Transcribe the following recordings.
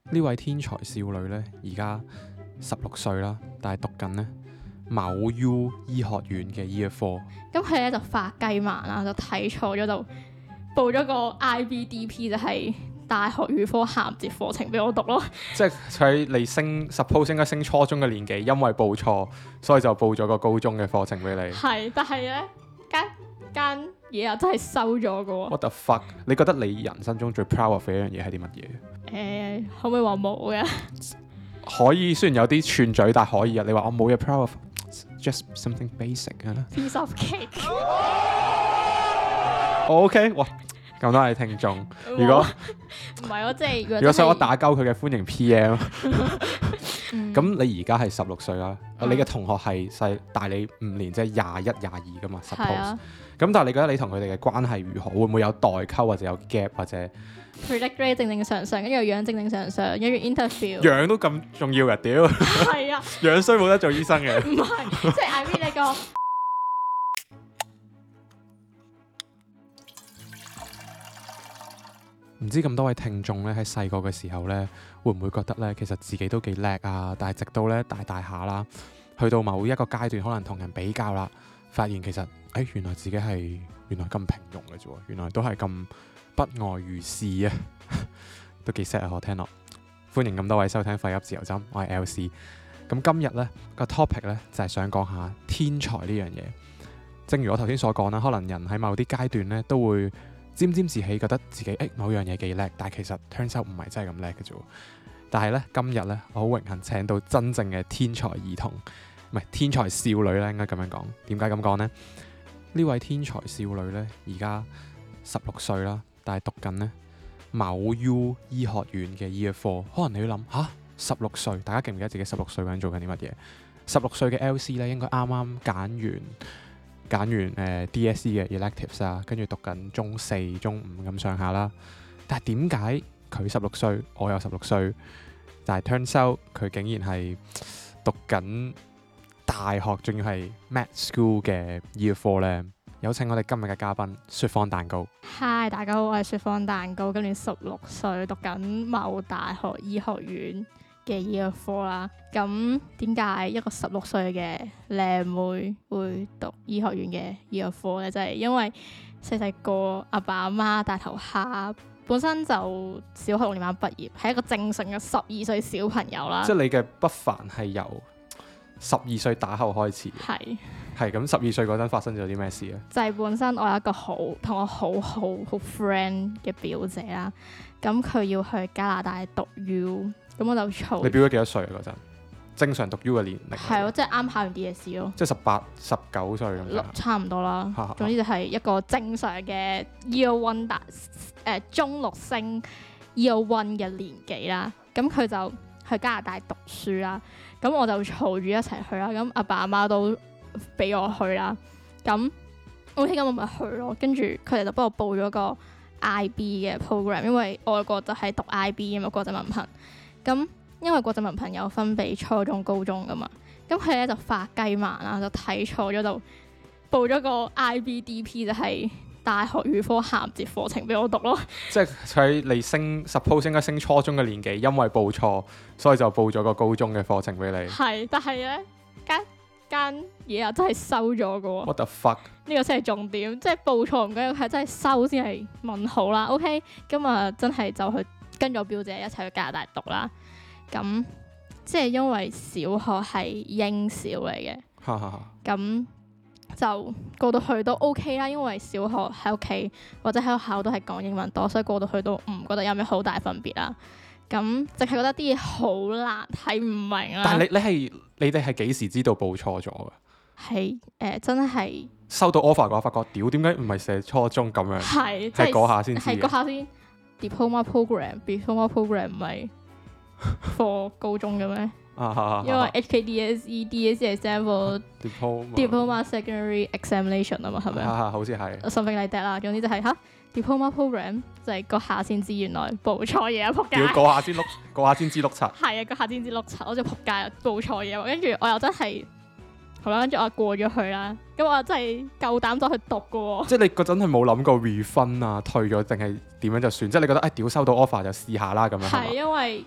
呢位天才少女呢，而家16歲啦，但係讀緊呢某 U 醫學院嘅 Year 4。 咁佢咧就發雞盲啦，就睇錯咗，就報咗個 IBDP，就係大學預科銜接課程俾我讀咯。 即係佢嚟suppose 應該升初中嘅年紀，因為報錯，所以就報咗個高中嘅課程俾你。 係，但係咧間嘢又真係收咗嘅喎。 What the fuck？ 你覺得你人生中最 proud of 嘅一樣嘢係啲乜嘢？ 可唔可以話冇嘅？ 可以，雖然有啲串嘴，但係可以啊。你話我冇嘢 proud of。Just something basic 啊 Piece of cake。 OK， 哇，咁多位聽眾，如果唔係我即係如果想我打鳩佢嘅，歡迎 PM。咁你而家係16歲啦，你嘅同學係大你5年，即係21、22噶嘛 suppose。咁但係你覺得你同佢哋嘅關係如何？會唔會有代溝或者有 gap 或者 predict rate 正常，跟住樣正常，跟住 interview 樣都咁重要嘅？屌， 係啊， 樣衰冇得做醫生嘅。 唔係，即係 I mean 你個唔知咁多位聽眾咧，喺細個嘅時候咧，會唔會覺得咧，其實自己都幾叻啊？但係直到咧大下啦，去到某一個階段，可能同人比較啦，發現其實原來自己係原來咁平庸嘅啫喎，原來都係咁不外如是啊，都幾 sad 啊！我聽落，歡迎咁多位收聽廢噏自由針，我係 LC。咁今日咧個 topic 咧就係想講下天才呢樣嘢。正如我頭先所講啦，可能人喺某啲階段咧都會沾沾自喜，覺得自己某樣嘢幾叻，但係其實 turns out 唔係真係咁叻嘅啫。但係咧今日咧，我好榮幸請到真正嘅天才兒童，唔係天才少女咧，應該咁樣講。點解咁講呢？呢位天才少女咧，而家16歲啦，但係讀緊呢某 U 醫學院嘅 Year 4。可能你會諗吓，16歲，大家記唔記得自己16歲嗰陣做緊啲乜嘢？16歲嘅 LC 咧，應該啱啱揀完DSE 嘅 electives 啊，跟住讀緊中4、中5咁上下啦。但係點解佢16歲，我有16歲，但係 turns out 佢竟然係讀緊大學，仲要係 Med School 嘅 Year 4咧？有請我哋今日嘅嘉賓雪芳蛋糕。 Hi， 大家好，我係雪芳蛋糕，今年16歲，讀緊某大學醫學院嘅 Year 4啦。咁點解一個16歲嘅靚妹會讀醫學院嘅 Year 4咧？就係因為細個阿爸阿媽大頭蝦，本身就小學6年班畢業，係一個正常嘅12歲小朋友啦。 即係你嘅不凡係由12歲打後開始。係咁12歲嗰陣發生咗啲咩事咧？就係本身我有一個同我好 friend 嘅表姐啦，咁佢要去加拿大讀 U， 咁我就嘈。你表姐幾多歲啊？嗰陣正常讀 U 嘅年齡？ 係咯，即係啱考完 DSE 咯。即係 18、19歲咁樣。差唔多啦。總之就係一個正常嘅 Year 1中六升 Year 1嘅年紀啦。咁佢就去加拿大讀書啦。咁我就嘈住一齊去啦。咁阿爸阿媽都俾我去啦，咁 OK， 咁我咪去咯。跟住佢哋就幫我報咗個 IB 嘅 program， 因為外國就係讀 IB 啊嘛，國際文憑。咁因為國際文憑有分俾初中、高中噶嘛，咁佢咧就發雞盲啦，就睇錯咗，就報咗個 IBDP， 就係大學預科銜接課程俾我讀咯。 即係佢嚟suppose 應該升初中嘅年紀，因為報錯，所以就報咗個高中嘅課程俾你。 係，但係咧間嘢又真係收咗嘅喎。 What the fuck？呢個先係重點，即係報錯唔緊要，係真係收先係問號啦。OK， 今日真係就去跟咗表姐一齊去加拿大讀啦。咁即係因為小學係英小嚟嘅，咁就過到去都 OK 啦。因為小學喺屋企或者喺學校都係講英文多，所以過到去都唔覺得有咩好大分別啦。咁淨係覺得啲嘢好難睇唔明啦。但係你哋係幾時知道報錯咗㗎？ 係真係收到 offer 嘅話，發覺屌點解唔係寫初中咁樣？係嗰下先知。 係嗰下先 diploma program 唔係 for 高中嘅咩？因為 HKDSE、DSE exam diploma secondary examination 啊嘛，係咪啊？ 好似係 something like that 啦。總之就係diploma program 就係嗰下先知原來報錯嘢啊！仆街！ 嗰下先知碌柒。 係啊，嗰下先知碌柒，我就仆街啊！報錯嘢，跟住我又真係好啦，跟住我過咗去啦。咁我真係夠膽走去讀㗎喎。即係你嗰陣係冇諗過 refund 啊，退咗定係點樣就算？即係你覺得屌收到 offer 就試下啦咁樣。 係因為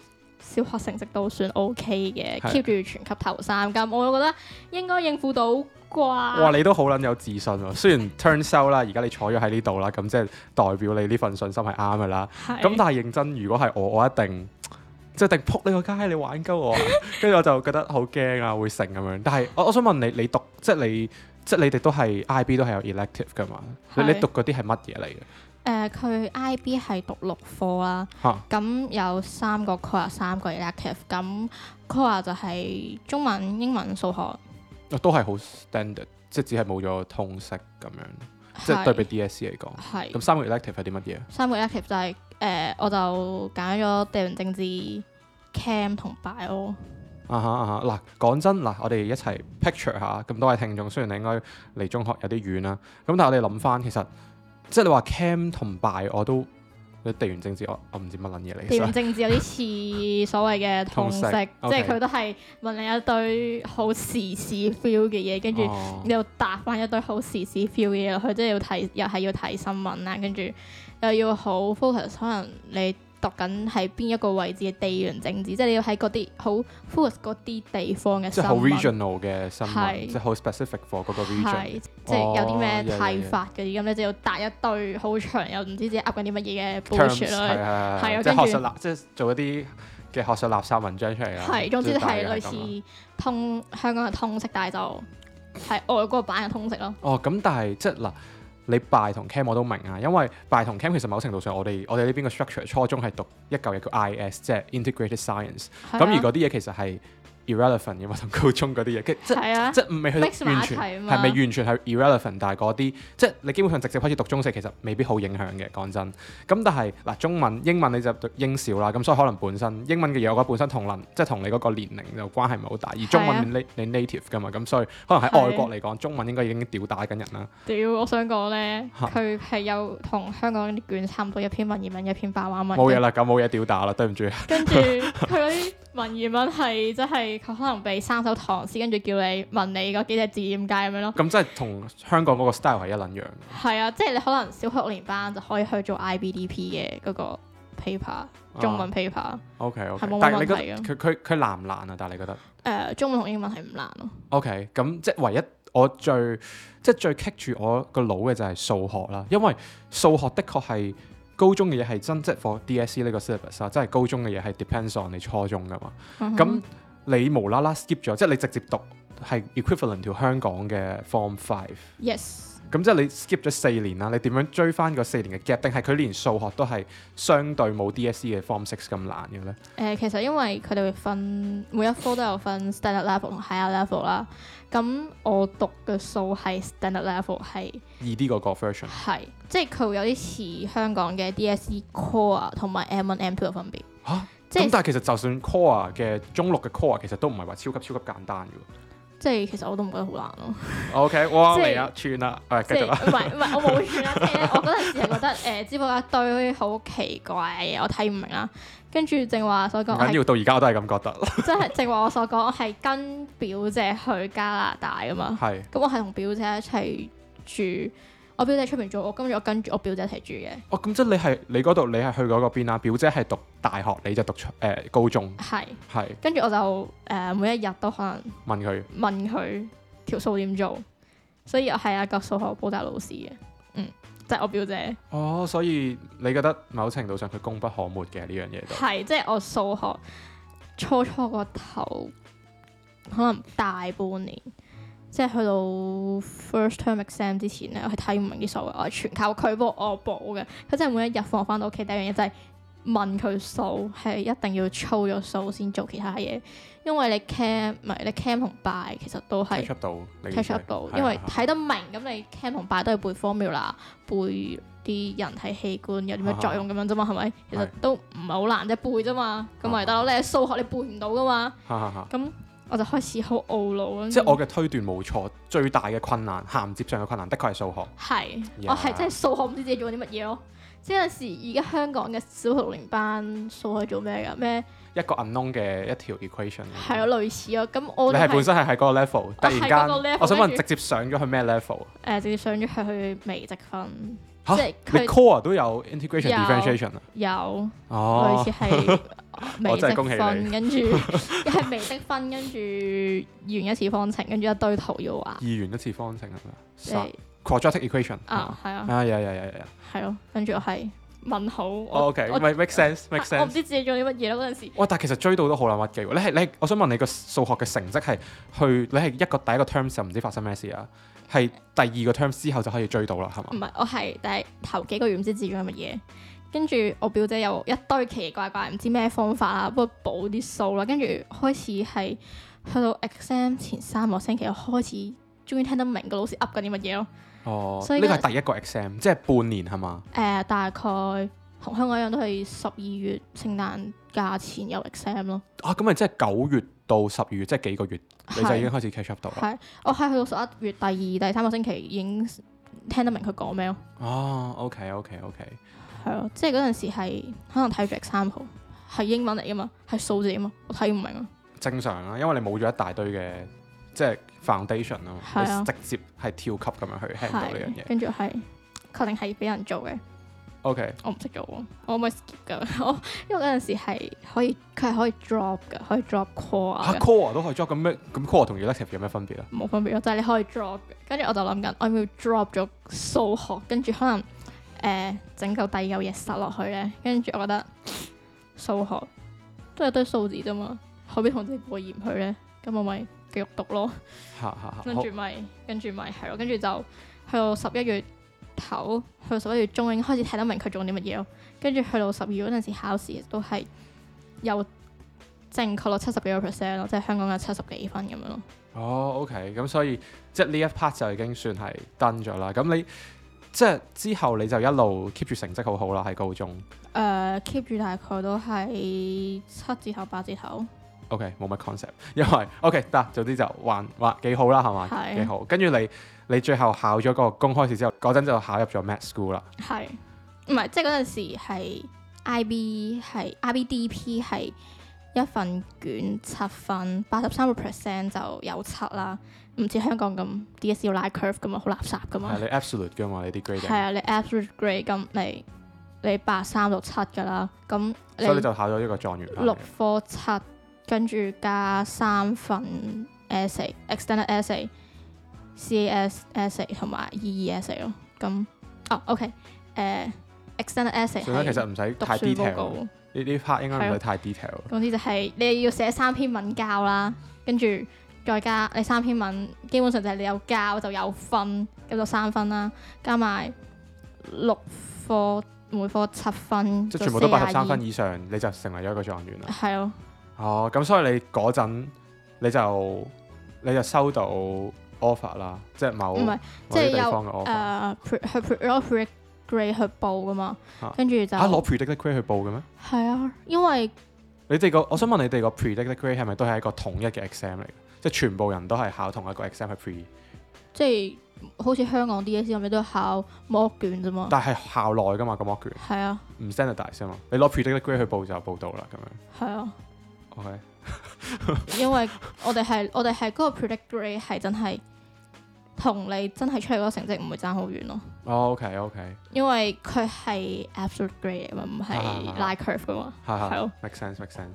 小學成績都算 OK 嘅係 ，keep 住全級頭3，咁我覺得應該應付到啩。 哇！你都好撚有自信喎。雖然 turns out 啦，而家你坐咗喺呢度啦，咁即係代表你呢份信心係啱㗎啦。咁但係認真，如果係我一定即係定撲你個街，你玩鳩我，跟住我就覺得好驚啊，會成咁樣。但係我想問你讀即係你哋都係 IB 都係有 elective 㗎嘛？你讀嗰啲係乜嘢嚟嘅？ 佢 IB 係讀6科啦，咁有3個 core 3個 elective， 咁 core 就係中文、英文、數學， 都係好 standard， 即係只係冇咗通識咁樣，即係對比 DSE 嚟講。係。咁3個 elective 係啲乜嘢 ？3個 elective 就係我就揀咗地緣政治、Chem 同 Bio。 嗱，講真嗱，我哋一齊 picture 下咁多位聽眾，雖然你應該離中學有啲遠啦，咁但係我哋諗翻其實。即係你話 Chem 同 Bio 我都地緣政治我唔知乜撚嘢嚟。地緣政治有啲似所謂嘅通識，即係佢都係問你一堆好時事 feel 嘅嘢，跟住你又答翻一堆好時事 feel 嘅嘢落去，即係又係要睇新聞啦，跟住又要好 focus， 可能你讀緊係邊一個位置嘅地緣政治，即係你要喺嗰啲好 focus 嗰啲地方嘅新聞，即係好 regional 嘅新聞，即係好 specific for 嗰個 region，即係有啲咩睇法嗰啲咁，你就要答一堆好長又唔知自己噏緊啲乜嘢嘅 bullshit 啦，係啊，即係學術即係做一啲嘅學術垃圾文章出嚟啦。係，總之係類似香港嘅通識，但係就係外國版嘅通識咯。咁但係即係嗱。你 Bio 同 Chem 我都明啊，因為 Bio 同 Chem 其實某程度上我哋呢邊嘅 structure 初中係讀一嚿嘢叫 IS， 即係 Integrated Science，咁而嗰啲嘢其實係 irrelevant 嘅嘛，同高中嗰啲嘢，即係未去到完全係未完全係 irrelevant，但係嗰啲即係你基本上直接開始讀中四，其實未必好影響嘅，講真。咁但係嗱，中文、英文你就讀英小啦，咁所以可能本身英文嘅嘢，我覺得本身即係同你嗰個年齡就關係唔係好大，而中文你 native 㗎嘛，咁所以可能喺外國嚟講，中文應該已經吊打緊人啦。我想講咧，佢係有同香港啲卷差唔多，一篇文言文，一篇白話文。冇嘢啦，咁冇嘢吊打啦，對唔住。跟住佢嗰啲文言文係真係佢可能俾3首唐詩，跟住叫你問你嗰幾隻字點解咁樣咯。咁即係同香港嗰個 style 係一撚樣。係啊，即係你可能小學6年班就可以去做 IBDP 嘅嗰個 paper，中文 paper。OK，係冇問題嘅。佢難唔難啊？但係你覺得？中文同英文係唔難咯。OK，咁即係唯一我最棘住我個腦嘅就係數學啦，因為數學的確係。高中嘅嘢係真即係 for DSE 呢個 syllabus 啊，即係高中嘅嘢係 depends on 你初中噶嘛。咁你無啦啦 skip 咗，即係你直接讀係 equivalent to 香港嘅 Form 5。Yes。咁即係你 skip 咗4年啦，你點樣追翻個4年嘅 gap？定係佢連數學都係相對冇 DSE 嘅 Form 6咁難嘅咧？其實因為佢哋會分每一科都有分 standard level 同 higher level 啦。咁我讀嘅數係 standard level 係易啲嗰個 version。係，即係佢會有啲似香港嘅 DSE core 同埋 M1、M2 嘅分別。嚇！咁但係其實就算 core 嘅中六嘅 core 其實都唔係話超級簡單嘅。即係其實我都唔覺得好難咯。OK， 哇嚟啊，串啦，繼續啦。唔係，我冇串啦。即係我嗰陣時係覺得只不過一堆好奇怪嘅嘢，我睇唔明啦。跟住正話所講，唔緊要，到而家我都係咁覺得。即係正話我所講，我係跟表姐去加拿大啊嘛。係。咁我係同表姐一齊住。我表姐出邊做，我跟住我表姐一齊住嘅。咁即係你嗰度，你係去嗰個邊啊？表姐係讀大學，你就讀高中。係。跟住我就每一日都可能問佢條數點做，所以我係一個數學補習老師嘅。即係我表姐。所以你覺得某程度上佢功不可沒嘅呢樣嘢都係，即係我數學初個頭可能大半年。即係去到 first term exam 之前咧，我係睇唔明啲數嘅，我係全靠佢幫我補嘅。佢真係每一日放翻到屋企，第一樣嘢就係問佢數，係一定要操咗數先做其他嘢。因為你 chem 同 bio 其實都係 catch up 到，因為睇得明咁你 chem 同 bio 都係背 formula，背啲人體器官有啲咩作用咁樣啫嘛，係咪？其實都唔係好難啫，背啫嘛。咁咪大佬，你數學你背唔到噶嘛？咁我就開始好懊惱。即係我嘅推斷冇錯，最大嘅困難，銜接上嘅困難，的確係數學。係，我係真係數學唔知自己做緊啲乜嘢咯。即係有時而家香港嘅小學6年班數學做咩㗎？咩一個 unknown 嘅一條 equation。係啊，類似啊。咁我你係本身係喺嗰個 level，突然間，我想問直接上咗去咩 level？直接上咗去微積分。即係你 core 都有 integration differentiation 啊？有，類似係。 微積恭喜分，跟住係微積分，跟住二元一次方程，跟住一堆圖要畫。 二元一次方程係咪？Quadratic equation 啊，係啊。係咯，跟住我係問號。 OK，make sense，make sense。 我唔知自己做啲乜嘢咯嗰陣時。 哇！但係其實追到都好撚屈機喎。你我想問你個數學嘅成績係你係第一個 term 就唔知發生咩事啊？係第二個 term 之後就可以追到啦，係嘛？ 唔係，我係但係頭幾個月唔知自己做乜嘢，跟住我表姐有一堆奇奇怪怪唔知咩方法啦，不過補啲數啦，跟住開始係去到 exam 前3個星期，我開始終於聽得明個老師噏緊啲乜嘢咯。 哦，所以呢個係第一個 exam， 即係半年係嘛？ 大概同香港一樣都係12月聖誕假前有 exam 咯。 啊，咁咪即係9月到12月，即係幾個月你就已經開始 catch up 到啦。 係，我係去到11月第2、第3個星期已經聽得明佢講咩咯。 哦，OK。 係咯，即係嗰陣時係可能睇住 exam 號係英文嚟噶嘛，係數字啊嘛，我睇唔明啊。 正常啊，因為你冇咗一大堆嘅即係 foundation 啊嘛，你直接係跳級咁樣去 handle 呢樣嘢。跟住係確定係俾人做嘅。 OK， 我唔識做喎，我可唔可以 skip 㗎？因為嗰陣時係可以，佢係可以 drop 㗎，可以 drop core 嚇 core 都可以 drop， 咁咩？咁 core 同 elective 有咩分別啊？ 冇分別咯，就係你可以 drop 嘅。跟住我就諗緊，我要唔要 drop 咗數學，跟住可能整嚿第二嚿嘢塞落去咧。跟住我覺得數學都係堆數字啫嘛，何必同自己過嚴去咧？咁我咪繼續讀咯。跟住咪係咯，跟住就去到11月頭，去到11月中已經開始睇得明佢做啲乜嘢咯。跟住去到12月嗰陣時考試都係有正確率70幾個 percent 咯，即係香港嘅70幾分咁樣咯。 哦，OK，咁所以即係呢一 part 就已經算係 done 咗啦。咁你即係之後你就一路 keep 住成績好好啦，喺高中。 keep 住大概都係7字頭8字頭。 OK， 冇乜 concept， 因為 OK 得，總之就還幾好啦，係嘛？ 係幾好。跟住你最後考咗個公開試之後，嗰陣就考入咗 med school 啦。 係，唔係即係嗰陣時係 IBDP 係一份卷7分，83% 就有7啦。唔似香港咁 DSE 要拉 curve 噶嘛，好垃圾噶嘛。 係你 absolute 噶嘛，你啲 grade。係啊，你 absolute grade 咁你83到7噶啦，咁所以你就考咗一個狀元牌。 6科7。跟住加3份 essay、extended essay、CAS essay 同埋 EE essay 咯。咁extended essay 其實唔使太 detail， 呢啲 part 應該唔使太 detail。 總之就係你要寫3篇文交啦，跟住再加你3篇文，基本上就係你有交就有分，咁就3分啦，加埋6科每科7分， 即係全部都83分以上，你就成為咗一個狀元啦。 係咯。 哦，咁所以你嗰陣你就收到 offer 啦，即係某啲地方嘅 offer。 去 predict grade 去報噶嘛，跟住就攞 predict grade 去報嘅咩？ 係啊，因為我想問你哋個 predict grade 係咪都係一個統一嘅 exam 嚟嘅？即係全部人都係考同一個 exam 去 pre。即係好似香港 DSE 咁，你都考 mock 卷啫嘛。 但係校內噶嘛個 mock 卷。 係啊。 唔 standardize 啊嘛，你攞 predict grade 去報就報到啦咁樣。 係啊。 OK， 因為我哋係嗰個 predict grade 係真係同你真係出嚟嗰個成績唔會爭好遠咯。 OK。因為佢係 absolute grade 嚟嘛，唔係拉 curve 噶嘛。係咯。 make sense。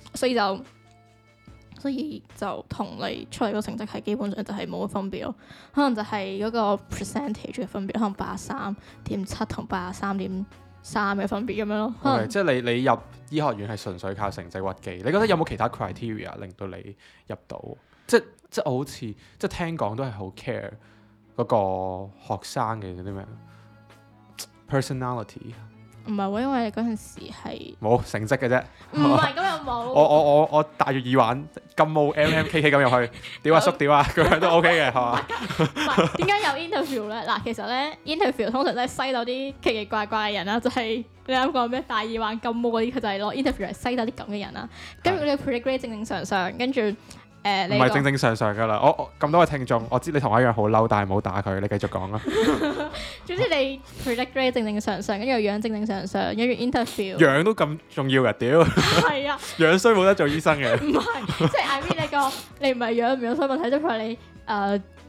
所以就同你出嚟個成績係基本上就係冇乜分別咯。可能就係嗰個 percentage 嘅分別，可能83.7同83.3嘅分別咁樣咯。 Okay，即係你入醫學院係純粹靠成績屈機，你覺得有冇其他 criteria 令到你入到？即我好似即係聽講都係好 care 嗰個學生嘅嗰啲咩 personality。唔係喎，因為嗰陣時係冇成績嘅啫。 唔係咁又冇。 我戴住耳環金毛 MMKK 咁入去，屌啊叔屌啊，咁樣都 OK 嘅係嘛？ 唔係點解有 interview 咧？嗱，其實咧 interview 通常都係篩到啲奇奇怪怪嘅人啦，就係你啱講咩戴耳環金毛嗰啲，佢就係攞 interview 嚟篩到啲咁嘅人啦。跟住你 predict grade 正正常常，跟住。唔係正正常常㗎啦，我咁多位聽眾，我知你同我一樣好嬲，但係唔好打佢，你繼續講啦。 總之你 predict grade 正正常常，跟住樣正正常常，跟住 interview 樣都咁重要㗎，屌！ 係啊， 樣衰冇得做醫生嘅。 唔係，即係 I mean 你唔係樣唔樣衰問題，即係譬如你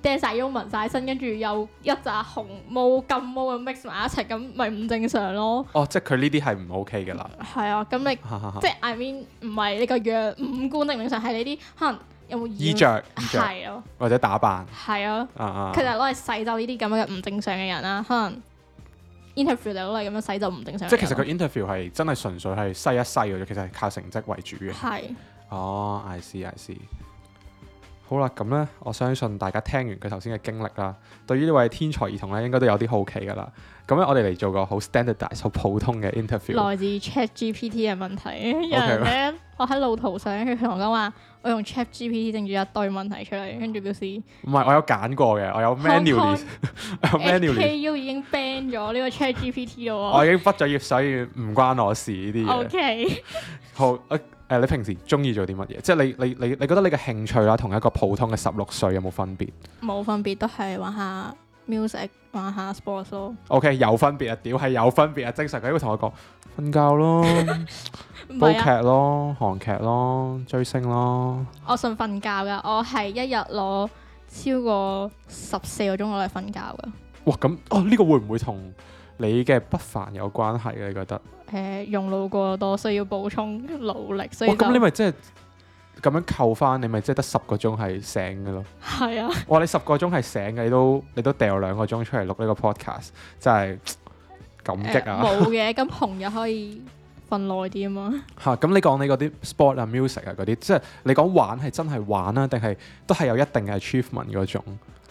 釘晒腰紋晒身，跟住有一紮紅毛金毛咁 mix 埋一齊，咁咪唔正常咯。 哦，即係佢呢啲係唔 OK 嘅啦。 係啊，咁你即係 I mean 唔係你個樣五官正唔正常，係你啲可能有冇衣着係咯， 或者打扮係啊。佢就攞嚟洗走呢啲咁樣嘅唔正常嘅人啦，可能 interview 就攞嚟咁樣洗走唔正常嘅人。 即係其實個 interview 係真係純粹係篩一篩嘅啫，其實係靠成績為主嘅。 係。 哦，I see。好啦，咁咧，我相信大家聽完佢頭先嘅經歷啦，對於呢位天才兒童咧，應該都有啲好奇噶啦。咁咧，我哋嚟做個好 standardized、好普通嘅 interview。來自 ChatGPT 嘅問題，有人咧，我喺路途上，佢同我講話，我用 ChatGPT 整住一堆問題出嚟，跟住表示唔係，我有揀過嘅，我有 manually， 有 manually。 KU 已經 ban 咗呢個 ChatGPT 咯。 我已經畢咗業，所以唔關我事呢啲嘢。 OK。 好。你平時中意做啲乜嘢？即係你覺得你嘅興趣啦，同一個普通嘅16歲有冇分別？冇分別，都係玩下 music， 玩下 sports 咯。 OK， 有分別啊！屌係有分別啊！正常佢會同我講瞓覺咯，煲劇咯，韓劇咯，追星咯。我信瞓覺㗎，我係一日攞超過14個鐘攞嚟瞓覺㗎。哇！咁呢個會唔會同你嘅不凡有關係嘅？你覺得？用腦過多，需要補充腦力，所以咁你咪即係咁樣扣翻，你咪即係得10個鐘係醒嘅咯。係啊，哇！你10個鐘係醒嘅，你都掉2個鐘出嚟錄呢個 podcast，真係感激啊！冇嘅，咁紅日可以瞓耐啲啊嘛。嚇！咁你講你嗰啲 sport 啊、music 啊嗰啲，即係你講玩係真係玩啊，定係都係有一定嘅 achievement 嗰種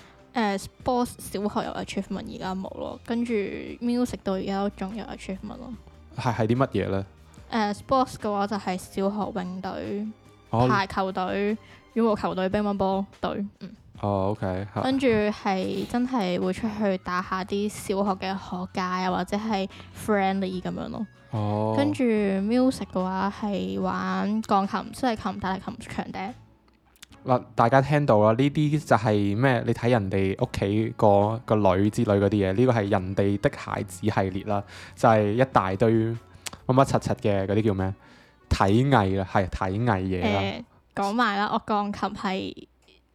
？Sports 小學有 achievement，而家冇咯。跟住 music 到而家都仲有 achievement 咯。係啲乜嘢咧？Sports 嘅話就係小學泳隊、排球隊、羽毛球隊、乒乓波隊。OK。跟住係真係會出去打下啲小學嘅學界啊，或者係 friendly 咁樣咯。跟住 music 嘅話係玩鋼琴、小提琴、大提琴、長笛。嗱，大家聽到啦，呢啲就係咩？你睇人哋屋企個女之類嗰啲嘢，呢個係人哋的孩子系列啦，就係一大堆乜乜柒柒嘅嗰啲叫咩？體藝啦，係體藝嘢啦。講埋啦，我鋼琴係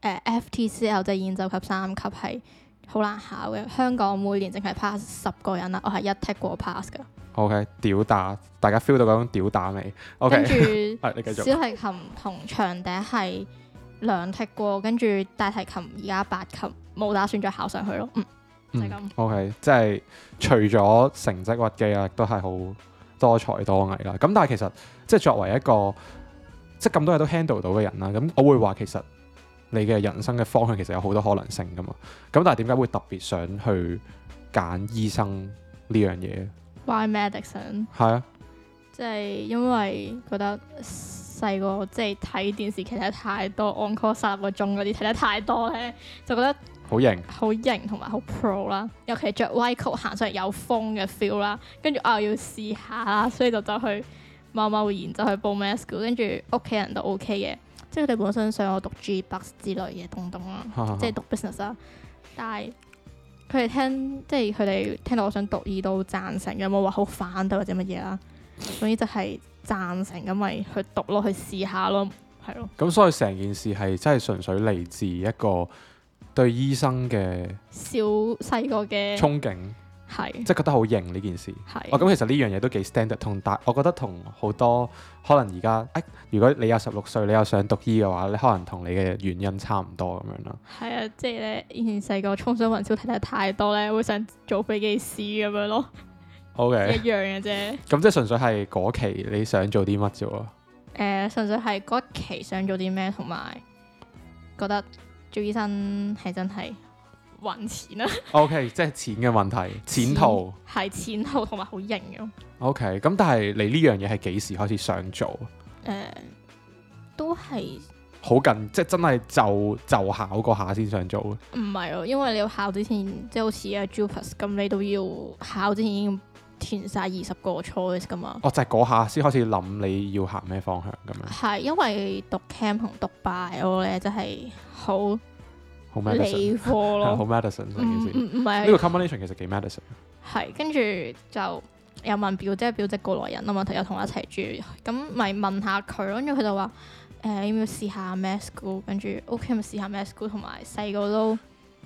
FTCL 即係演奏級3級係好難考嘅，香港每年淨係 pass 10個人啦，我係一剔過 pass 㗎。OK， 屌打，大家 feel 到嗰種屌打未 ？OK，跟住你繼續。小提琴同長笛係2剔過，跟住大提琴而家8級，冇打算再考上去咯。就係咁。OK， 即係除咗成績屈機啊，都係好多才多藝啦。咁但係其實即係作為一個即係咁多嘢都 handle 到嘅人啦，咁我會話其實你嘅人生嘅方向其實有好多可能性噶嘛。咁但係點解會特別想去揀醫生呢樣嘢？Why medicine？ 係啊，即係因為覺得細個即係睇電視劇睇得太多 on call 30個鐘嗰啲睇得太多咧，就覺得好型同埋好 pro 啦。尤其着 white coat 行上嚟有風嘅 feel 啦，跟住我又要試下啦，所以就走去貿然就去報 med school， 跟住屋企人都 OK 嘅，即係佢哋本身想我讀 G-Bucks 之類嘅東東啦，即係讀 business 啦。但係佢哋聽到我想讀醫都贊成，有冇話好反對或者乜嘢啦？總之就係贊成咁咪去讀咯，去試下咯，係咯。咁所以成件事係真係純粹嚟自一個對醫生嘅細個嘅憧憬，係即係覺得好型呢件事。係咁其實呢樣嘢都幾 standard， 我覺得同好多可能而家如果你有16歲，你又想讀醫嘅話，你可能同你嘅原因差唔多咁樣咯。係啊，即係咧以前細個衝上雲霄睇得太多咧，會想做飛機師咁樣咯。Okay. 一樣嘅啫，咁即係純粹係嗰期你想做啲乜啫喎？純粹係嗰期想做啲咩，同埋覺得做醫生係真係揾錢啊。OK， 即係錢嘅問題，錢途係錢途同埋好型嘅。OK， 咁但係你呢樣嘢係幾時開始想做？都係好近，即係真係就考嗰下先想做。唔係咯，因為你要考之前，即係好似啊 JUPAS 咁，你都要考之前已經填晒20個 choice 噶嘛？哦，就係嗰下先開始諗你要行咩方向咁樣。係因為讀 chem 同讀 bio 咧，真係好理科咯，好 medicine 成件事。唔係呢個 combination 其實幾 medicine。係跟住就有問表姐過來人啊嘛，有同我一齊住，咁咪問下佢，跟住佢就話要唔要試下 med school， 跟住 OK 咪試下 med school， 同埋細個都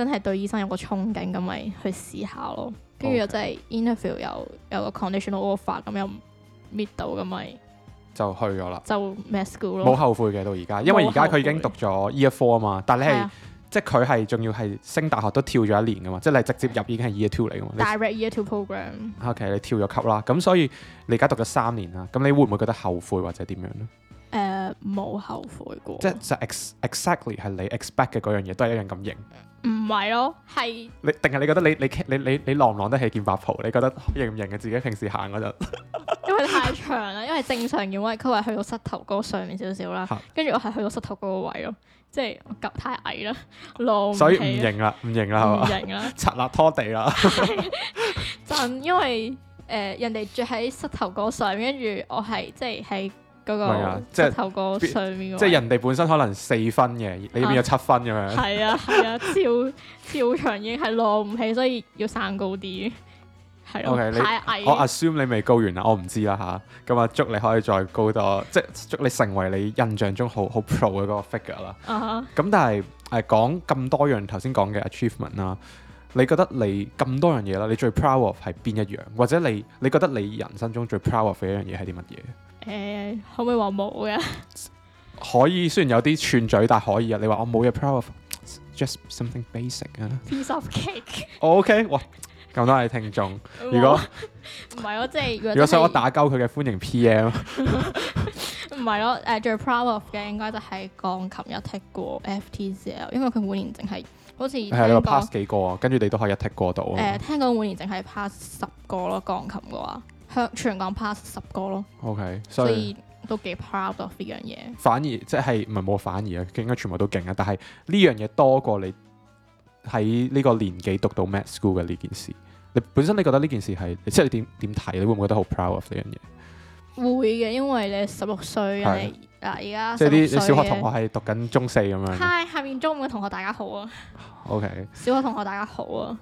真係對醫生有個憧憬，咁咪去試下咯。跟住又真係 interview 有個 conditional offer，咁又 meet 到，咁咪就去咗啦。 就 med school 咯。 冇後悔嘅到而家，因為而家佢已經讀咗 year 4啊嘛，但係你係即係佢係仲要係升大學都跳咗一年噶嘛，即係你直接入已經係 year 2嚟噶嘛。 Direct year 2 program。 OK， 你跳咗級啦，咁所以你而家讀咗3年啦，咁你會唔會覺得後悔或者點樣咧？ 冇後悔過。 即係 exactly 係你 expect 嘅嗰樣嘢，都係一樣咁型。 唔係咯，係你定係你覺得你晾唔晾得起件白袍？你覺得型唔型嘅自己平時行嗰陣？ 因為太長啦，因為正常嘅位佢係去到膝頭哥上面少少啦，跟住我係去到膝頭哥個位咯，即係我夾太矮啦，晾唔起。所以唔型啦，係嘛？唔型啦，擦辣拖地啦。真因為人哋着喺膝頭哥上面，跟住我係即係喺嗰個膝頭哥上面。即係人哋本身可能4分嘅，你呢邊有7分咁樣。係啊，超長已經係晾唔起，所以要生高啲。係咯，okay，太矮。 我 assume 你未高完啦，我唔知啦嚇。咁啊，祝你可以再高多，即係祝你成為你印象中好 pro 嘅嗰個 figure 啦。咁但係講咁多樣頭先講嘅 achievement 啦，你覺得你咁多樣嘢啦，你最 proud of 係邊一樣？或者你覺得你人生中最 proud of 嘅一樣嘢係啲乜嘢？ 可唔可以話冇嘅？ 可以，雖然有啲串嘴，但係可以啊。你話我冇嘢 proud of，just something basic 啊。 Piece of cake。 OK， 哇！咁多位聽眾，如果唔係咯，即係如果想我打鳩佢嘅，歡迎 PM。 唔係咯，最 proud of 嘅應該就係鋼琴一剔過 FTCL，因為佢每年淨係好似係你話 pass 幾個啊？跟住你都可以一剔過到。 聽講每年淨係 pass 10個咯，鋼琴嘅話，全港 pass 10個咯。 OK， 所以都幾 proud of 呢樣嘢。 反而即係唔係冇反而啊？應該全部都勁啊！但係呢樣嘢多過你喺呢個年紀讀到 med school 嘅呢件事，你本身你覺得呢件事係即係你點睇？你會唔會覺得好 proud of 呢樣嘢？ 會嘅，因為你16歲，人哋而家即係啲小學同學係讀緊中4咁樣。 Hi，下面中5嘅同學大家好啊。OK。小學同學大家好啊。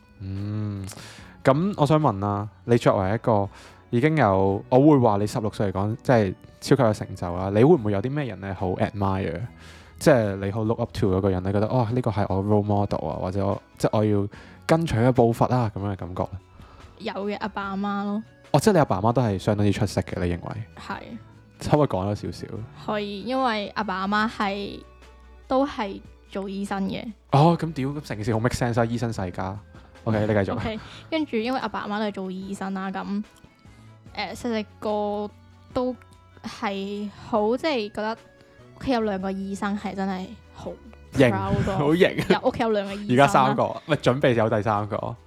咁我想問啦，你作為一個已經有，我會話你16歲嚟講，即係超級有成就啦。你會唔會有啲咩人係好 admire？即係你好 look up to 嗰個人，你覺得呢個係我 role model 啊，或者即係我要跟隨佢嘅步伐啊咁樣嘅感覺咧？ 有嘅，阿爸阿媽咯。 即係你阿爸阿媽都係相當之出色嘅，你認為？ 係。 可唔可以講多少少？ 可以，因為阿爸阿媽都係做醫生嘅。 咁屌，咁成件事好 make sense 啊！醫生世家。OK， 你繼續。 OK， 跟住因為阿爸阿媽都係做醫生啦，咁細細個都係好，即係覺得屋企有2個醫生係真係好型，好型。 有屋企有2個醫生。 而家3個，唔係準備有第3個。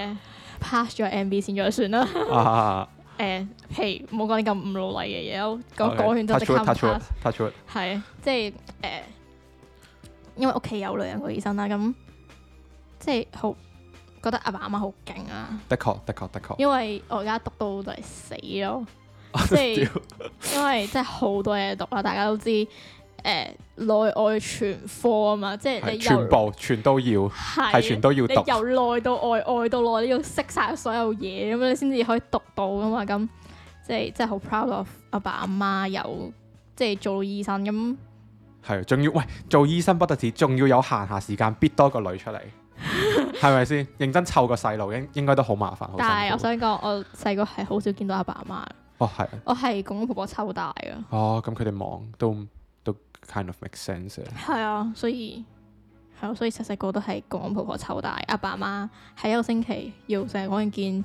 pass 咗 MB 先再算啦。譬如唔好講啲咁唔努力嘅嘢，講完就即刻 pass。係，即係因為屋企有2個醫生啦，咁即係好覺得阿爸阿媽好勁啊。的確。因為我而家讀到就係死咯，即係因為真係好多嘢讀啦，大家都知。內外全科啊嘛，即係你全都要，係全都要讀。你由內到外，外到內，你要識晒所有嘢，咁樣你先至可以讀到噶嘛。咁即係真係好 proud of 阿爸阿媽有即係做醫生咁。係，仲要做醫生不得止，仲要有閒暇時間逼多個女出嚟，係咪先？認真湊個細路應該都好麻煩。但係我想講，我細個係好少見到阿爸阿媽。係。我係公公婆婆湊大噶。咁佢哋忙都 kind of make sense。係啊，所以細細個都係公公婆婆湊大，阿爸阿媽係一個星期要成日講見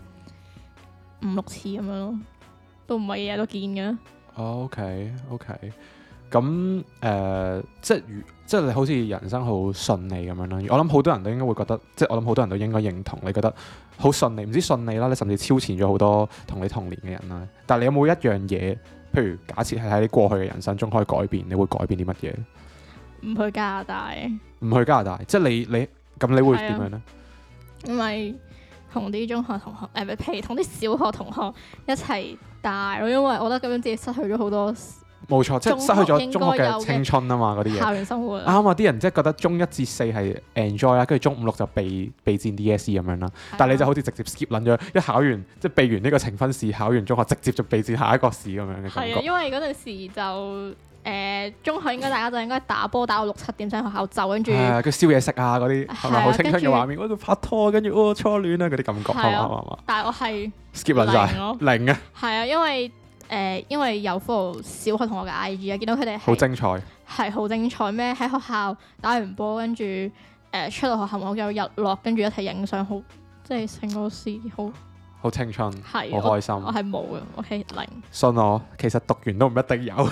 5-6次咁樣咯，都唔係日日都見嘅。OK，咁即係你好似人生好順利咁樣啦。我諗好多人都應該會覺得，即係我諗好多人都應該認同你覺得好順利，唔知順利啦，你甚至超前咗好多同你同年嘅人啦。但係你有冇一樣嘢？譬如假設係喺你過去嘅人生中可以改變，你會改變啲乜嘢？唔去加拿大。即係你咁你會點樣呢？因為同啲中學同學譬如同啲小學同學一齊大咯，因為我覺得咁樣自己失去咗好多。冇錯，即係失去咗中學嘅青春啊嘛，嗰啲嘢。校園生活。啱啊！啲人即係覺得中1至4係 enjoy 啦，跟住中5、6就備戰 DSE 咁樣啦。但係你就好似直接 skip 撚咗，一考完即係備完呢個呈分試，考完中學直接就備戰下一個試咁樣嘅感覺。係啊，因為嗰陣時就中學應該大家就應該打波打到6、7點先學校走，跟住跟燒嘢食啊嗰啲，係咪好青春嘅畫面？嗰度拍拖，跟住初戀啊嗰啲感覺，係嘛？但係我係 skip 撚晒零啊！ 係啊，因為有 follow 小學同學嘅 IG 啊，見到佢哋好精彩， 係好精彩咩？喺學校打完波，跟住出到學校我有日落，跟住一齊影相，好即係成個事好青春，好開心。我係冇嘅，我係零。 信我，其實讀完都唔一定有。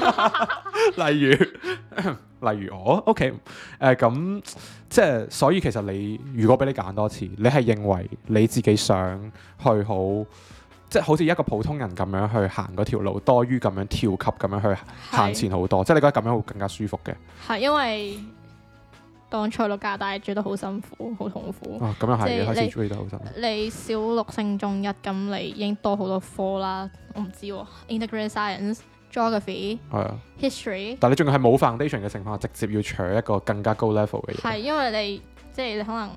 例如我，OK，咁即係所以其實你如果俾你揀多次，你係認為你自己想去即係好似一個普通人咁樣去行嗰條路，多於咁樣跳級咁樣去行前好多，即係你覺得咁樣會更加舒服嘅。係因為當初到加拿大追得好辛苦，好痛苦。咁又係，開始追得好辛苦。你小六升中一，咁你已經多好多科啦。我唔知喎，Integrated Science、Geography、History。但你仲係冇 foundation 嘅情況下，直接要取一個更加高 level 嘅嘢。係因為你可能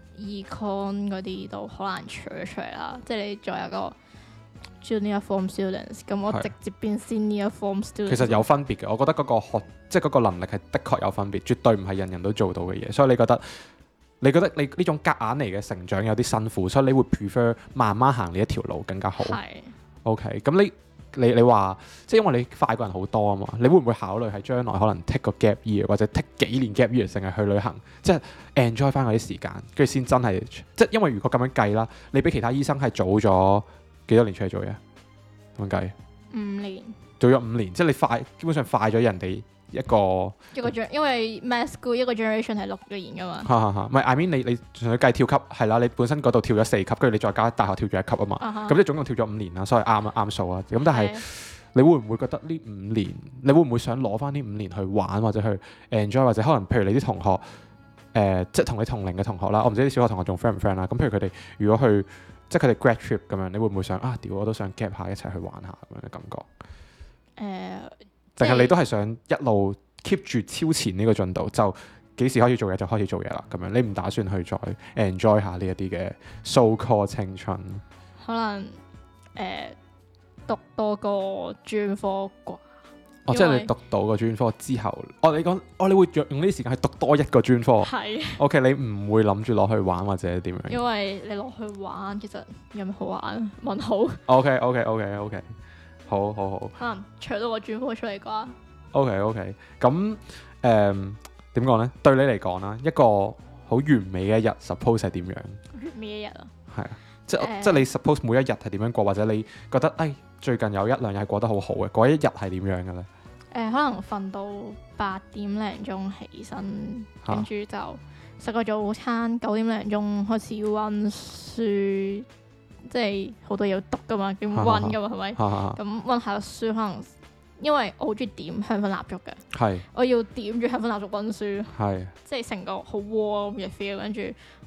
Econ 嗰啲都好難取出嚟啦。即係你仲有個 Junior Form Students， 咁我直接變 Senior Form Students。其實有分別嘅，我覺得嗰個即係嗰個能力係的確有分別，絕對唔係人人都做到嘅嘢。所以你覺得你呢種夾硬嚟嘅成長有啲辛苦，所以你會 prefer 慢慢行呢一條路更加好。係。OK，咁你話即係因為你快過人好多啊嘛，你會唔會考慮係將來可能 take 個 gap year 或者 take 幾年 gap year 成日去旅行，即係 enjoy 翻嗰啲時間，跟住先真係即係因為如果咁樣計啦，你比其他醫生係早咗幾多年出嚟做嘢？咁樣計5年，做咗5年，即係你基本上快咗人哋一個因為 med school 一個 generation 係6年噶嘛。唔係 I mean 你純粹計跳級係啦，你本身嗰度跳咗4級，跟住你再加大學跳咗1級啊嘛。咁即係總共跳咗5年啦，所以啱數啊。咁但係你會唔會覺得呢5年，你會唔會想攞翻呢5年去玩或者去 enjoy， 或者可能譬如你啲同學即係同你同齡嘅同學啦，我唔知啲小學同學仲 friend 唔 friend 啦。咁譬如佢哋如果去即係佢哋 grad trip 咁樣，你會唔會想屌我都想 gap 下一齊去玩下咁樣嘅感覺？定係你都係想一路 keep 住超前呢個進度，就幾時開始做嘢就開始做嘢啦咁樣？你唔打算去再 enjoy 下呢一啲嘅 so called 青春？可能讀多個專科啩。即係你讀到個專科之後，你講你會用呢啲時間去讀多一個專科。係。OK，你唔會諗住攞去玩或者點樣？因為你攞去玩其實有咩好玩？問號。OK，好。可能取到個專科出嚟啩。OK，咁點講咧？對你嚟講啦，一個好完美嘅一日 suppose 係點樣？完美嘅一日啊？係啊，即係你 suppose 每一日係點樣過，或者你覺得最近有1、2日係過得好好嘅，嗰一日係點樣嘅咧？可能瞓到8點零鐘起身，跟住就食個早餐，9點零鐘開始温書，即係好多嘢要讀噶嘛，要温噶嘛，係咪？咁温下書，可能因為我好中意點香薰蠟燭嘅，我要點住香薰蠟燭温書，即係成個好 warm 嘅 feel， 跟住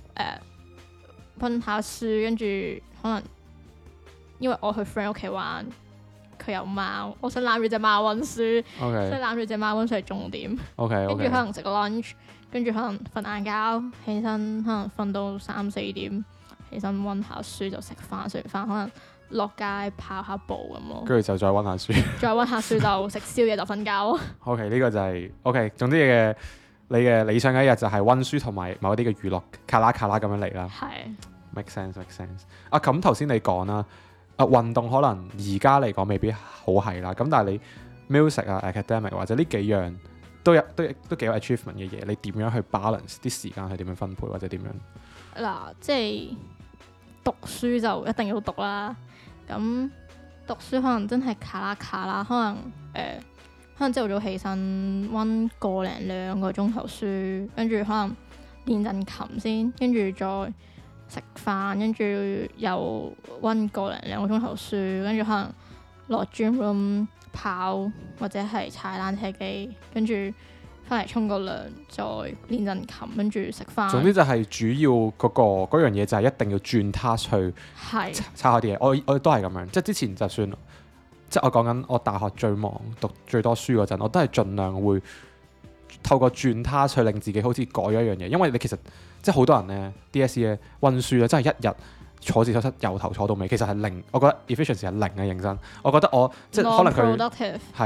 温下書，跟住可能因為我去 friend 屋企玩。佢有貓，我想攬住隻貓温書，所以攬住隻貓温書係重點。跟住可能食個 lunch， 跟住可能瞓晏覺，起身可能瞓到3、4點，起身温下書就食飯，食完飯可能落街跑下步咁咯。跟住就再温下書，再温下書就食宵夜就瞓覺。OK， 呢個就係 OK。總之你嘅理想嘅一日就係温書同埋某啲嘅娛樂，卡啦咁樣嚟啦。係。make sense。咁頭先你講啦。運動可能而家嚟講未必好係啦，咁但係你 music academic 或者呢幾樣都幾有 achievement 嘅嘢，你點樣去 balance 啲時間係點樣分配或者點樣？嗱，即係讀書就一定要讀啦。咁讀書可能真係卡啦，可能朝早起身温個零2個鐘頭書，跟住可能練陣琴先，跟住再食飯，跟住又温個零2個鐘頭書，跟住可能落 gym room 跑或者係踩單車機，跟住翻嚟沖個涼，再練陣琴，跟住食飯。總之就係主要嗰樣嘢就係一定要轉 task 去抄下啲嘢。我都係咁樣，即係之前就算，即係我講緊我大學最忙讀最多書嗰陣，我都係盡量會透過轉 task 去令自己好似改咗一樣嘢，因為你其實即係好多人咧 DSE 咧温書咧，真係一日坐自修室由頭坐到尾，其實係零。我覺得 efficiency 係零嘅認真。我覺得我即係可能佢係啊，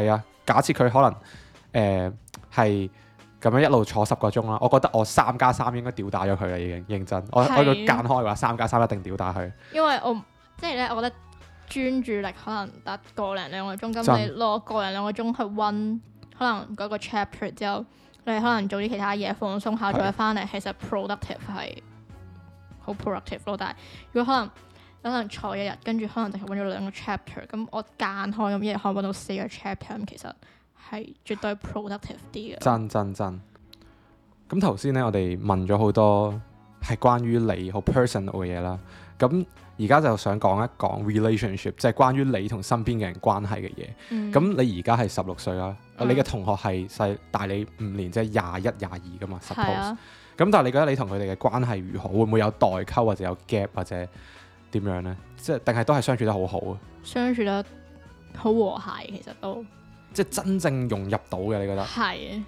假設佢可能係咁樣一路坐10個鐘啦，我覺得我3+3應該吊打咗佢啦，已經認真。我要間開嘅話3+3一定吊打佢。 因為我即係咧，我覺得專注力可能得個零兩個鐘，咁你攞個零兩個鐘去溫可能嗰個 chapter 之後，你可能做啲其他嘢放鬆下，再翻嚟，其實 productive 係好 productive 咯。但係如果可能坐一日，跟住可能淨係溫咗2個 chapter， 咁我間開咁一日可以溫到4個 chapter， 咁其實係絕對 productive 啲嘅。 真。咁頭先咧，我哋問咗好多係關於你好 personal 嘅嘢啦。咁而家就想講一講 relationship， 即係關於你同身邊嘅人關係嘅嘢。咁你而家係16歲啦，你嘅同學係大你5年，即係21、22噶嘛 suppose。咁但係你覺得你同佢哋嘅關係如何？會唔會有代溝或者有 gap 或者點樣呢？即係定係都係相處得好好啊？相處得好和諧，其實都即係真正融入到嘅，你覺得？ 係。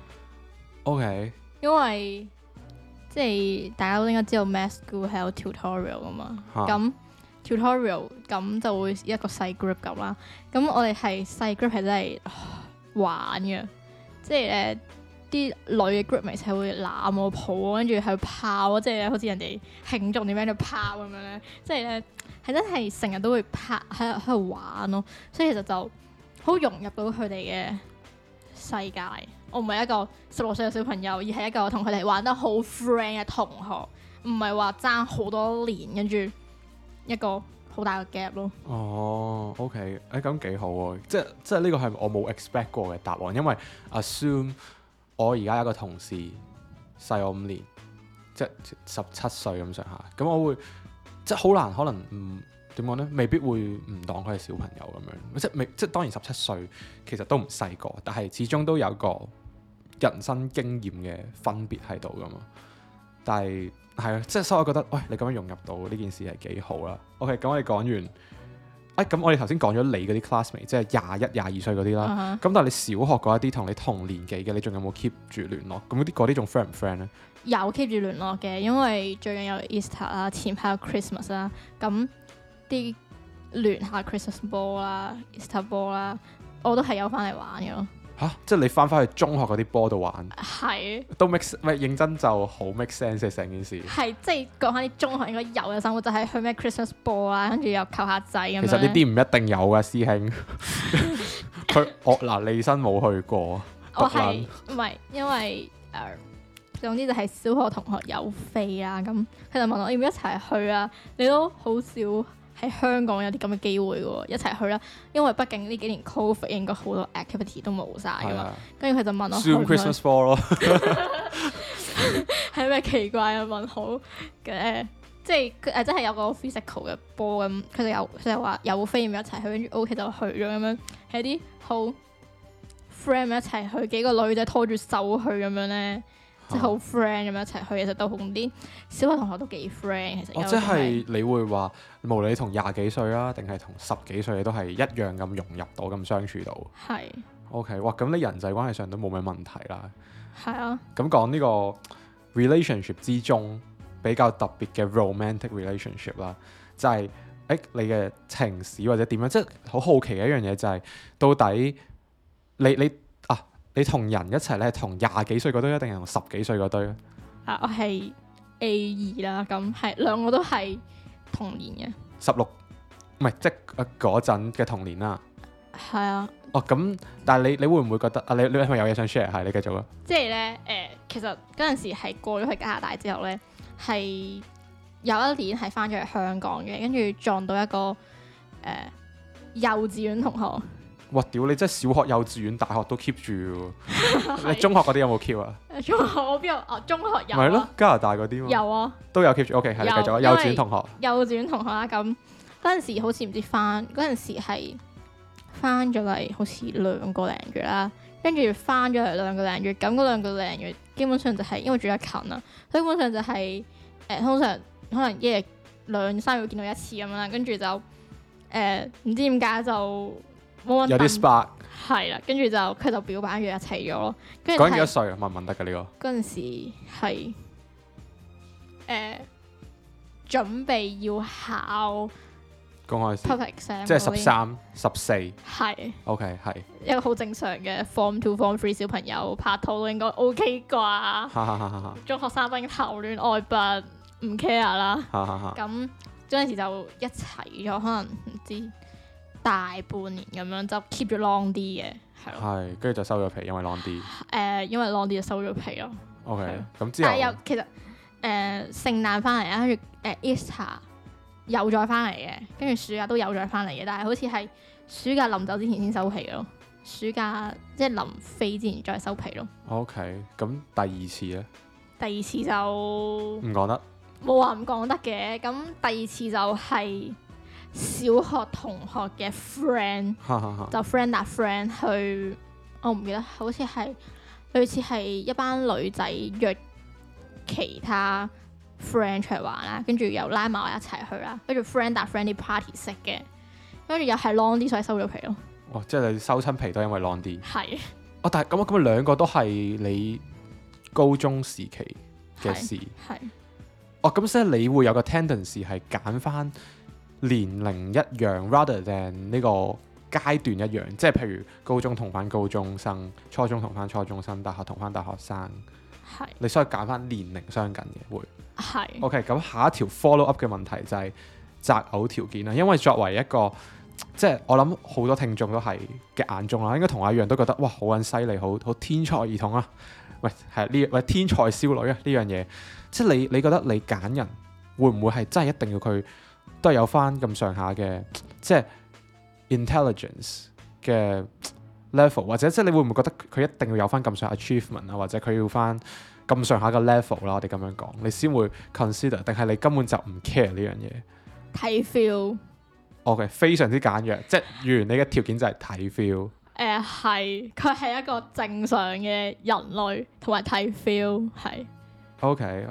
OK。 因為即係大家都應該知道 Math School 係有 tutorial 噶嘛，咁 tutorial 咁就會一個細 group 咁啦。咁我哋係細 group 係真係玩嘅，即係啲女嘅 group 咪係會攬我抱，跟住係炮，即係好似人哋慶祝點樣去炮咁樣咧，即係咧係真係成日都會拍喺度玩咯，所以其實就好融入到佢哋嘅世界。我唔係一個16歲嘅小朋友，而係一個同佢哋玩得好 friend 嘅同學，唔係話爭好多年，跟住一個好大嘅 gap 咯。 哦，OK，咁幾好喎！即係呢個係我冇 expect 過嘅答案，因為 assume 我而家有一個同事細我5年，即係17歲咁上下，咁我會即係好難，可能點講呢？未必會唔當佢係小朋友咁樣，即係當然17歲其實都唔細個，但係始終都有個人生經驗嘅分別喺度噶嘛。但係啊，即係所以我覺得，喂，你咁樣融入到呢件事係幾好啦。OK，咁我哋講完，咁我哋頭先講咗你嗰啲 classmate，即係21、22歲嗰啲啦。咁但係你小學嗰一啲同你同年紀嘅，你仲有冇 keep 住聯絡？咁嗰啲仲 friend 唔 friend 咧？ 有 keep 住聯絡嘅，因為最近有 Easter 啦，前排有 Christmas 啦，咁啲聯下 Christmas ball 啦、Easter ball 啦，我都係有翻嚟玩嘅咯。 嚇！即係你翻去中學嗰啲波度玩， 係都 make 唔係認真就好 make sense 嘅成件事。 係即係講翻啲中學應該有嘅生活，就係去咩 Christmas ball 啦，跟住又扣下仔咁樣。其實呢啲唔一定有噶，師兄。我利申冇去過。 我係唔係因為總之就係小學同學有飛啦，咁佢就問我要唔要一齊去啊？你都好少喺香港有啲咁嘅機會喎，一齊去啦。因為畢竟呢幾年 Covid 應該好多 activity 都冇晒噶嘛。跟住佢就問我 Zoom Christmas ball 咯， 係咩奇怪嘅問號？即係真係有個 physical 嘅波咁，佢就話有飛咪一齊去，跟住 OK 就去咗咁樣，係啲好 friend 咪一齊去，幾個女仔拖住手去咁樣咧。即係好 friend 咁樣一齊去，其實都同啲小學同學都幾 friend。其實即係你會話，無論你同20幾歲啦，定係同10幾歲，你都係一樣咁融入到，咁相處到。係。OK， 哇！咁你人際關係上都冇咩問題啦。 係啊。咁講呢個 relationship 之中比較特別嘅 romantic relationship 啦，就係你嘅情史或者點樣，即係好好奇嘅一樣嘢就係到底你同人一齊咧，係同20幾歲嗰堆，定係同10幾歲嗰堆咧？ 我係 A2 啦，咁係兩個都係同年嘅。16， 唔係即係嗰陣嘅同年啦。 係啊。 咁但係你會唔會覺得你係咪有嘢想 share？係你繼續啊。即係咧其實嗰陣時係過咗去加拿大之後咧，係有一年係翻咗去香港嘅，跟住撞到一個幼稚園同學。 哇！屌你真係小學、幼稚園、大學都 keep 住喎。你中學嗰啲有冇 keep 啊？中學我邊有？中學有。咪係咯，加拿大嗰啲嘛。有啊。都有 keep 住。OK， 係你繼續。幼稚園同學。幼稚園同學啦，咁嗰陣時好似唔知嗰陣時係翻咗嚟，好似2個零月啦。跟住翻咗嚟2個零月，咁嗰2個零月基本上就係因為住得近啦，所以基本上就係通常可能一日2、3個月見到一次咁樣啦。跟住就唔知點解就。有啲 spark 係啦，跟住就佢就表白約一齊咗咯。嗰陣幾多歲啊？問唔問得㗎呢個？嗰陣時係準備要考公開試 public exam 即係13、14。 係。 OK 係。 一個好正常嘅 Form 2、Form 3小朋友拍拖都應該 OK 啩。中學生兵頭戀愛拔唔 care 啦。咁嗰陣時就一齊咗，可能唔知大半年咁樣，就 keep 咗 long 啲嘅，係咯。 係，跟住就收咗皮，因為 long 啲。 因為 long 啲就收咗皮咯。 OK，咁之後。 但係又其實聖誕翻嚟啊，跟住Easter 又再翻嚟嘅，跟住暑假都有再翻嚟嘅，但係好似係暑假臨走之前先收皮咯。暑假即係臨飛之前再收皮咯。 OK，咁第二次咧？ 第二次就唔講得。 冇話唔講得嘅，咁第二次就係小學同學嘅 friend，就 friend 搭 friend 去，我唔記得，好似係類似係一班女仔約其他 friend 出嚟玩啦，跟住又拉埋我一齊去啦，跟住 friend 搭 friend 啲 party 識嘅，跟住又係 long 啲，所以收咗皮咯。 哦，即係你收親皮都因為 long 啲。 係。 哦，但係咁兩個都係你高中時期嘅事。 係。 哦，咁所以你會有個 tendency 係揀翻年齡一樣 rather than 呢個階段一樣，即係譬如高中同翻高中生，初中同翻初中生，大學同翻大學生。 係。 你所以揀翻年齡相近嘅會。 係。 OK，咁下一條 follow up 嘅問題就係擇偶條件啦，因為作為一個即係我諗好多聽眾都係嘅眼中啦，應該同我一樣都覺得哇好撚犀利，好天才兒童啊！喂，係呢喂天才少女啊呢樣嘢，即係你覺得你揀人會唔會係真係一定要佢都係有翻咁上下嘅即係 intelligence 嘅 level， 或者即係你會唔會覺得佢一定要有翻咁上下 achievement 啊，或者佢要翻咁上下嘅 level 啦？我哋咁樣講，你先會 consider， 定係你根本就唔 care 呢樣嘢？ 睇 feel。 OK， 非常之簡約，即係原你嘅條件就係睇 feel。 係，佢係一個正常嘅人類，同埋睇 feel 係。 OK。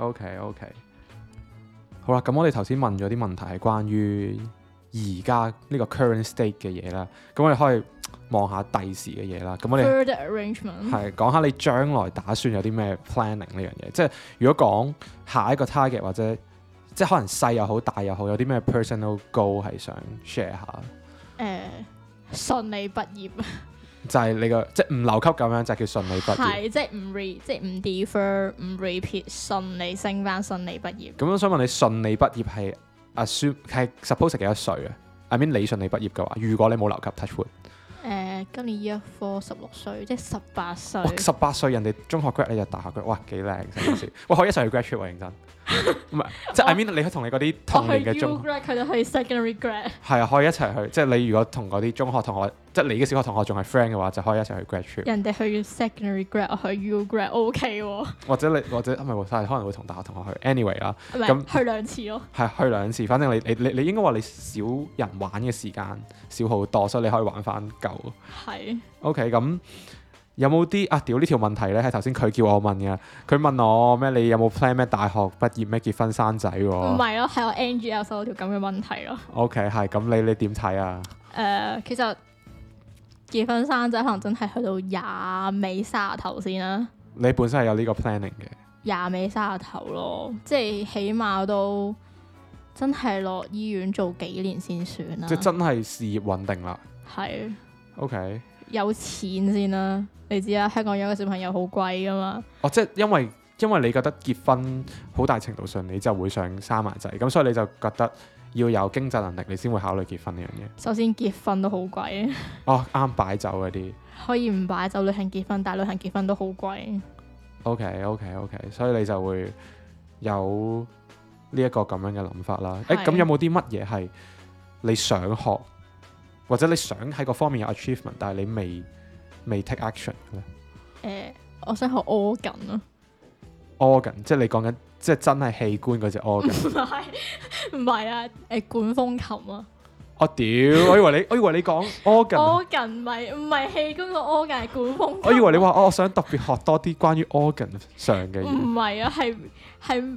好啦，咁我哋頭先問咗啲問題係關於而家呢個 current state 嘅嘢啦，咁我哋可以望下第時嘅嘢啦。咁我哋 further arrangement 係講下你將來打算有啲咩 planning 呢樣嘢，即係如果講下一個 target 或者。即係可能細又好，大又好，有啲咩 personal goal 係想 share 下？ 順利畢業。 就係你個即係唔留級咁樣，就叫順利畢業。 係，即係唔 defer 唔 repeat， 順利升翻順利畢業。 咁我想問你順利畢業係 assume 係 suppose 係幾多歲啊？I mean 你順利畢業嘅話，如果你冇留級 touch wood。 今年 year 4 16歲，即係18歲。 哇！18歲人哋中學 grad 你就大學 grad，哇幾靚成件事！哇可以一齊去 graduate 喎認真。唔係，即係 I mean 你去同你嗰啲同年嘅中學， 佢哋去 secondary grad。係啊，可以一齊去。即係你如果同嗰啲中學同學，即係你嘅小學同學仲係 friend 嘅話，就可以一齊去 graduate。人哋去 secondary grad， 我去 U grad OK 喎。或者唔係喎，可能會同大學同學去。anyway 啦， 咁去2次咯。係去2次，反正你應該話你少人玩嘅時間少好多，所以你可以玩翻夠。係。OK， 咁。有冇啲屌呢條問題咧？係頭先佢叫我問嘅。佢問我咩？你有冇 plan 咩大學畢業咩結婚生仔喎？唔係咯，係我 NG 有收到條咁嘅問題咯。OK， 係咁你點睇啊？其實結婚生仔可能真係去到20尾30頭先啦。你本身係有呢個 planning 嘅？20尾30頭咯，即係起碼都真係落醫院做幾年先算啦。即係真係事業穩定啦。係。OK。有錢先啦。你知啦，香港養個小朋友好貴噶嘛。哦，即係因為你覺得結婚好大程度上你就會想生埋仔，咁所以你就覺得要有經濟能力你先會考慮結婚呢樣嘢。首先結婚都好貴。哦，啱擺酒嗰啲。可以唔擺酒旅行結婚，但係旅行結婚都好貴。OK， 所以你就會有呢一個咁樣嘅諗法啦。咁有冇啲乜嘢係你想學，或者你想喺個方面有 achievement， 但係你未 take action 咧？我想學 organ 咯。organ 即係你講緊即係真係器官嗰隻 organ。唔係啊，管風琴啊。我屌，我以為你講 organ。organ 唔係器官個 organ 係管風琴。我以為你話我想特別學多啲關於 organ 上嘅嘢。唔係啊，係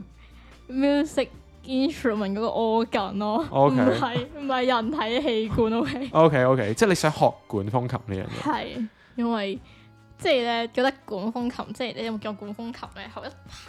music instrument 嗰個 organ 咯。唔係人體嘅器官。OK， 即係你想學管風琴呢樣嘢。係。因為即係咧覺得管風琴，即係你有冇見過管風琴咧？後一拍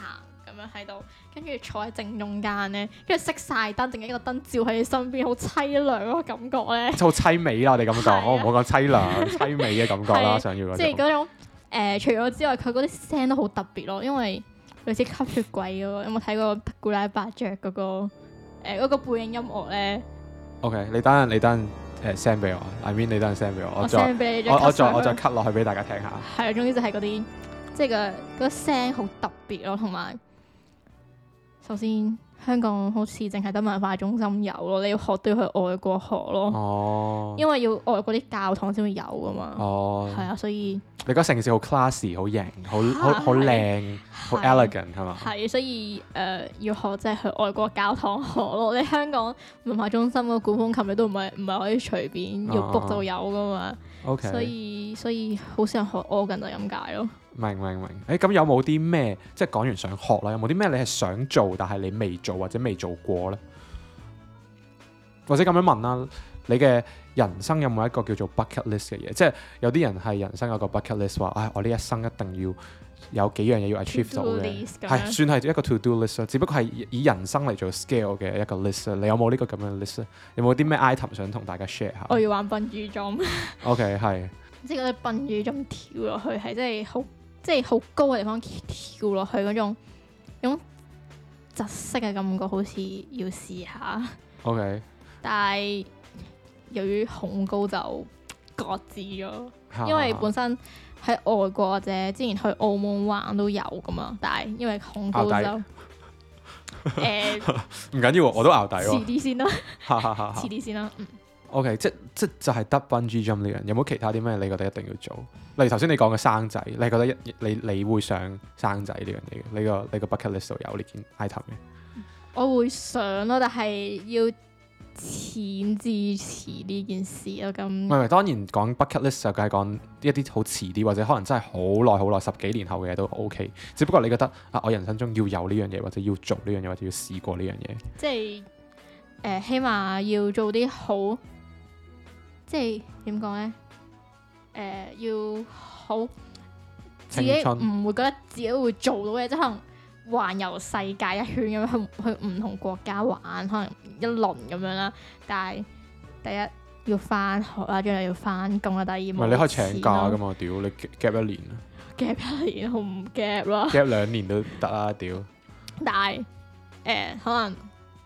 咁樣喺度，跟住坐喺正中間咧，跟住熄晒燈，淨係一個燈照喺你身邊，好凄涼嗰個感覺咧。 即係好凄美啦！我哋咁講，我唔好講凄涼，凄美嘅感覺啦，想要嗰種。 即係嗰種除咗之外，佢嗰啲聲都好特別咯，因為類似吸血鬼嗰個。有冇睇過《古拉伯爵》嗰個嗰個背景音樂咧 ？OK，你等陣send 俾我 ，I mean 你等陣 send 俾我， 我 send 俾你， 我再 cut 落去俾大家聽下。 係啊，總之就係嗰啲，即係嗰個聲好特別咯，同埋首先香港好似淨係得文化中心有咯，你要學都要去外國學咯。哦。因為要外國啲教堂先會有噶嘛。哦。係啊，所以。 你個城市好 classy， 好型，好靚，好 elegant 係嘛？ 係，所以要學即係去外國教堂學咯。你香港文化中心個管風琴你都唔係可以隨便要 book 就有噶嘛。 OK。 所以好少人學 organ 就咁解咯。 明。咁有冇啲咩即係講完想學啦？有冇啲咩你係想做但係你未做或者未做過咧？或者咁樣問啦，你嘅人生有冇一個叫做 bucket list 嘅嘢？即係有啲人係人生有個 bucket list 話，我呢一生一定要有幾樣嘢要 achieve 到嘅，係算係一個 to do list 咯。只不過係以人生嚟做 scale 嘅一個 list。你有冇呢個咁樣嘅 list？有冇啲咩 item 想同大家 share 下？ 我要玩笨豬跳。 OK， 係。即係嗰啲笨豬跳跳落去係即係好高嘅地方跳落去嗰種窒息嘅感覺，好似要試下。 OK。 但係由於恐高就擱置咗，因為本身喺外國或者之前去澳門玩都有噶嘛，但係因為恐高就唔緊要，我都淆底喎。 遲啲先啦，遲啲先啦。 OK， 即就係得 bungee jump 呢樣，有冇其他啲咩你覺得一定要做？例如頭先你講嘅生仔，你覺得你會想生仔呢樣嘢？你個 bucket list 度有呢件 item 嘅？ 我會想咯，但係要錢支持呢件事咯，咁唔係當然講 bucket list 就梗係講一啲好遲啲或者可能真係好耐10幾年後嘅嘢都 OK。只不過你覺得我人生中要有呢樣嘢，或者要做呢樣嘢，或者要試過呢樣嘢， 即係起碼要做啲好，即係點講咧？要好自己唔會覺得自己會做到嘅，即係可能環遊世界一圈咁樣去唔同國家玩，可能一輪咁樣啦。但係第一要翻學啦，之後要翻工啦，第二冇錢。唔係你可以請假噶嘛？屌你 gap 一年啊！gap 一年好唔 gap 啦？gap 2年都得啦，屌！但係可能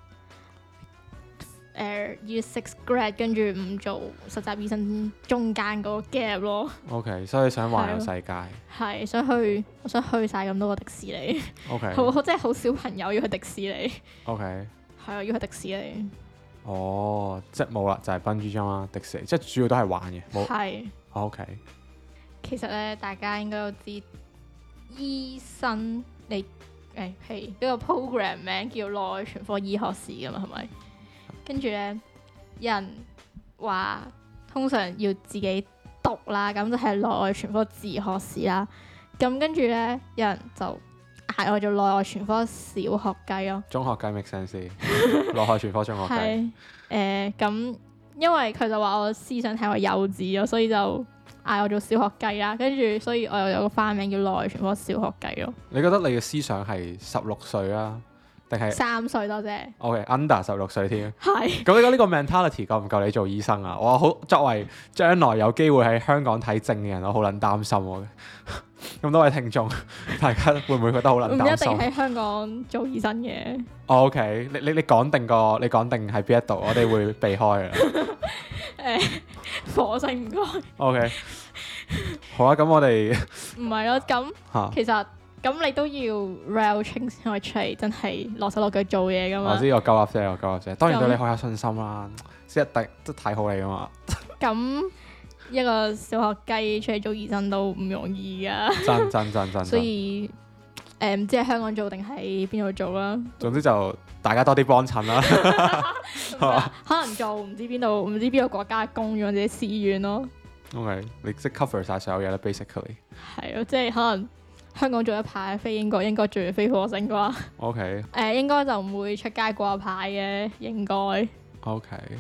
Year 6 grad 跟住唔做實習醫生中間嗰個 gap 咯。OK， 所以想環遊世界。係，我想去晒咁多個迪士尼。OK， 即係好小朋友要去迪士尼。OK， 係啊，要去迪士尼。哦，即係冇啦，就係 bungee jump 啦，迪士尼，即係主要都係玩嘅。冇。係。OK。其實咧，大家應該都知醫生你譬如呢個 program 名叫內外全科醫學士噶嘛，係咪？跟住咧，有人話通常要自己讀啦，咁就係內外全科自學士啦。咁跟住咧，有人就嗌我做內外全科小學雞咯。中學雞 make sense， 內外全科中學雞。係咁，因為佢就話我思想太過幼稚咯，所以就嗌我做小學雞啦。跟住，所以我又有個花名叫內外全科小學雞咯。你覺得你嘅思想係16歲啊？定係3歲多啫。OK，under 16歲添。係。咁你覺得呢個 mentality 夠唔夠你做醫生啊？我好作為將來有機會喺香港睇症嘅人，我好撚擔心喎。咁多位聽眾，大家會唔會覺得好撚擔心？唔一定喺香港做醫生嘅。OK，你講定喺邊一度，我哋會避開嘅。火星唔該。OK。好啊，咁我哋唔係咯，咁其實。咁你都要 real train 先可以出嚟，真係落手落腳做嘢噶嘛？我知我鳩噏啫，當然對你好有信心啦，即係都睇好你噶嘛。咁一個小學雞出嚟做醫生都唔容易噶。真。所以唔知喺香港做定喺邊度做啦。總之就大家多啲幫襯啦。可能做唔知邊個國家嘅公院或者私院咯。OK， 你即 cover 晒所有嘢啦 basically。係咯，即係可能。香港做一排，飛英國做飛火星啩。OK。應該就唔會出街掛牌嘅，應該。OK。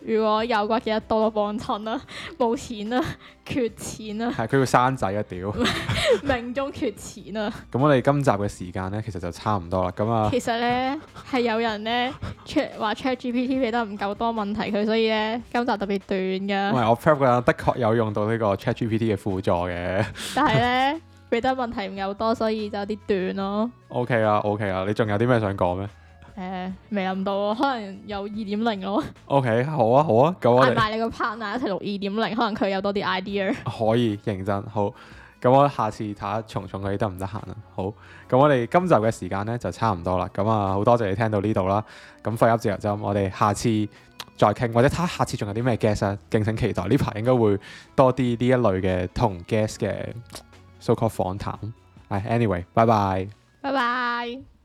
如果有嘅話，記得多多幫襯啦，冇錢啦，缺錢啦。 係佢要生仔啊！屌， 命中缺錢啊！ 咁我哋今集嘅時間咧，其實就差唔多啦。咁啊， 其實咧係有人咧話 ChatGPT 俾得唔夠多問題佢，所以咧今集特別短㗎。 唔係我 prep 嗰陣，的確有用到呢個 ChatGPT 嘅輔助嘅。 但係咧俾得問題唔夠多，所以就有啲短咯。 OK 啦，OK 啦，你仲有啲咩想講咩？ 未諗到，可能有2.0咯。 OK，好啊，好啊，咁我哋嗌埋你個 partner 一齊錄2.0，可能佢有多啲 idea。 可以認真好，咁我下次睇下蟲蟲佢得唔得閒啊？好，咁我哋今集嘅時間咧就差唔多啦。咁啊，好多謝你聽到呢度啦。咁廢噏自由針，我哋下次再傾，或者睇下下次仲有啲咩 guest 啊，敬請期待。呢排應該會多啲呢一類嘅同 guest 嘅 so called 訪談。anyway，拜拜。 拜拜。